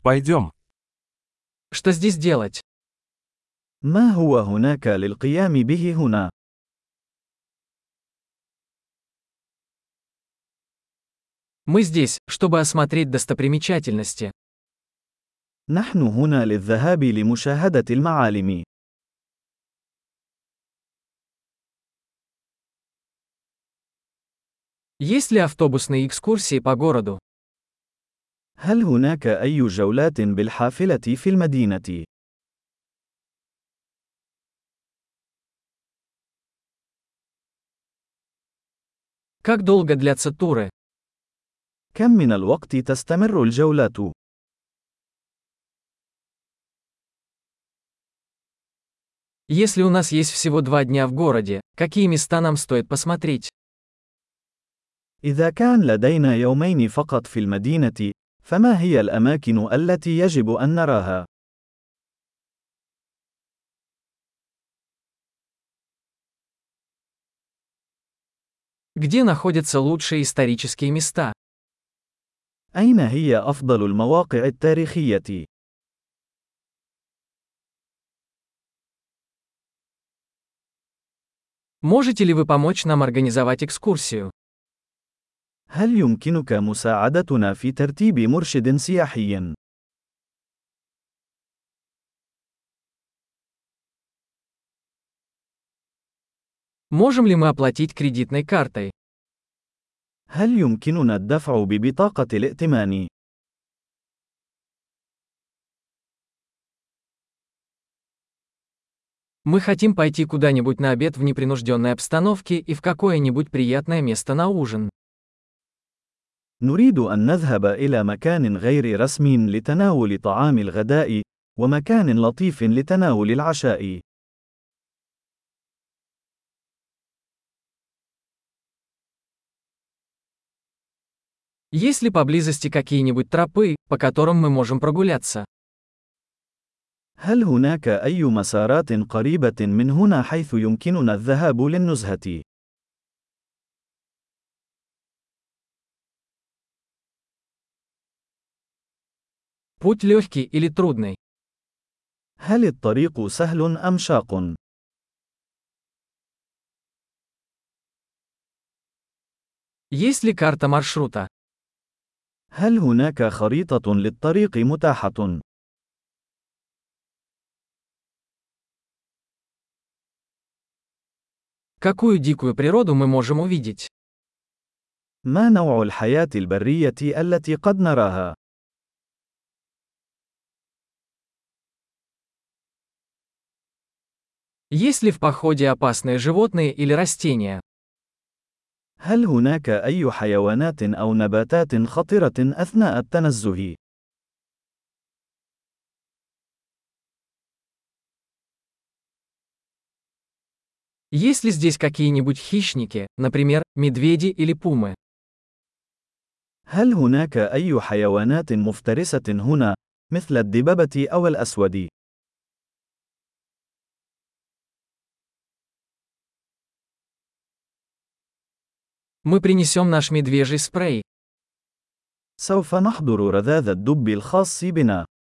Пойдем. Что здесь делать? ما هو هناك للقيام به هنا؟ Мы здесь, чтобы осмотреть достопримечательности. نحن هنا للذهاب لمشاهدة المعالم. Есть ли автобусные экскурсии по городу? هل هناك أي جولات بالحافلة في المدينة؟ Как долго длятся туры? كم من الوقت تستمر الجولات؟ Если у нас есть всего 2 дня в городе, какие места нам стоит посмотреть? إذا كان لدينا يومين فقط في المدينة، فما هي الأماكن التي يجب أن نراها؟ Где находятся лучшие исторические места? أين هي أفضل المواقع التاريخية؟ Можете ли вы помочь нам организовать экскурсию? هل يمكنك مساعدتنا في ترتيب مرشد سياحي؟ Можем ли мы оплатить кредитной картой? هل يمكننا الدفع ببطاقة الائتمان؟ Мы хотим пойти куда-нибудь на обед в непринужденной обстановке и в какое-нибудь приятное место на ужин. نريد أن نذهب إلى مكان غير رسمي لتناول طعام الغداء، ومكان لطيف لتناول العشاء. Есть ли поблизости какие-нибудь тропы, по которым мы можем прогуляться? هل هناك أي مسارات قريبة من هنا حيث يمكننا الذهاب للنزهة؟ Путь легкий или трудный? هل الطريق سهل أم شاق؟ Есть ли карта маршрута? هل هناك خريطة للطريق متاحة؟ Какую дикую природу мы можем увидеть? ما نوع الحياة البرية التي قد نراها؟ Есть ли в походе опасные животные или растения? هل هناك أي حيوانات أو نباتات خطرة أثناء التنزه؟ Есть ли здесь какие-нибудь хищники, например, медведи или пумы? هل هناك أي حيوانات مفترسة هنا، مثل الدببة أو الأسود؟ Мы принесем наш медвежий спрей. سوف نحضر رذاذ الدب الخاص بنا.